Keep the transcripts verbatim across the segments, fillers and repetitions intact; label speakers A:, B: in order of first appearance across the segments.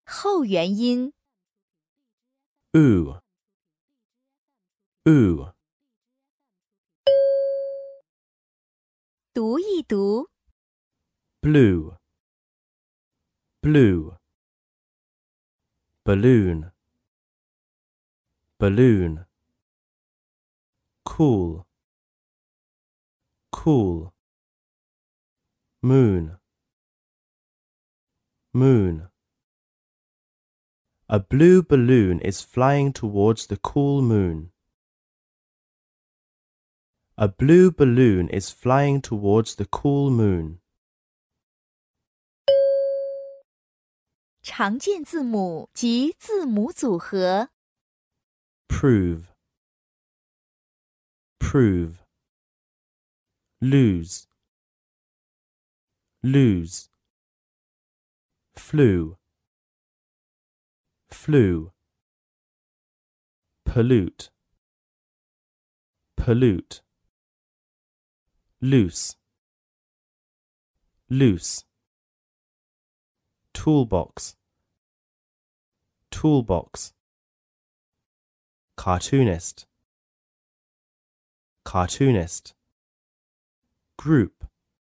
A: 后元音
B: oo, oo,
A: 读一读
B: blue, blue, balloon, balloon, cool, cool, moon, moon. A blue balloon is flying towards the cool moon. A blue balloon is flying towards the cool moon.
A: 常见字母及字母组合
B: Prove, prove, lose, lose, flew, flew, pollute, pollute, loose, loose, toolbox, toolbox, cartoonist, cartoonist, group,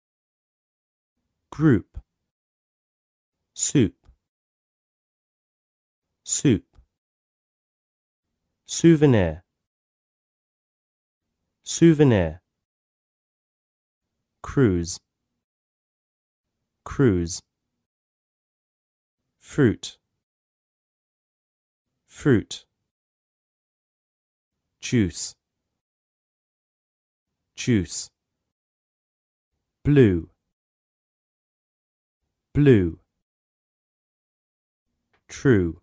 B: group, soup, soup, souvenir, souvenir, cruise, cruise, fruit, fruit, juice, juice, blue, blue, true,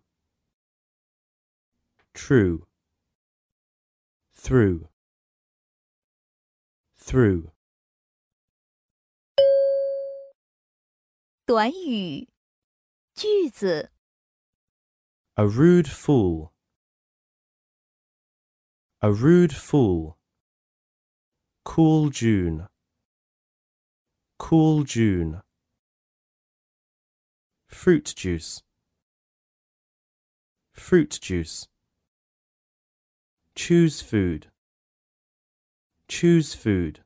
B: true, through, through.
A: 短语句子
B: A rude fool, a rude fool, cool June, cool June, fruit juice, fruit juice, choose food, choose food,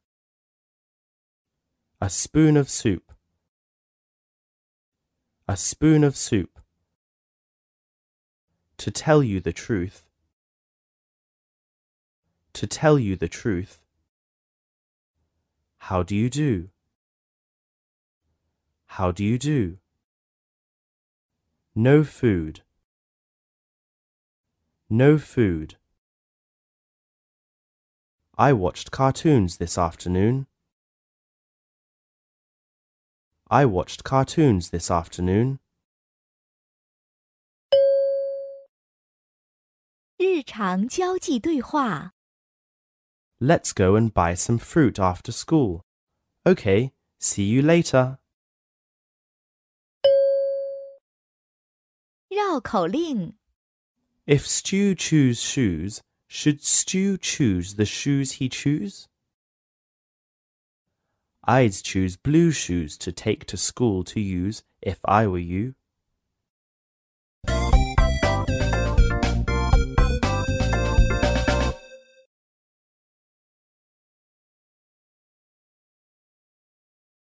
B: a spoon of soup, a spoon of soup, to tell you the truth, to tell you the truth, how do you do, how do you do, no food, no food. I watched cartoons this afternoon. I watched cartoons this afternoon.
A: 日常交际对话
B: Let's go and buy some fruit after school. Okay, see you later.
A: 绕口令
B: If Stu choose shoes, should Stu choose the shoes he choose? I'd choose blue shoes to take to school to use if I were you.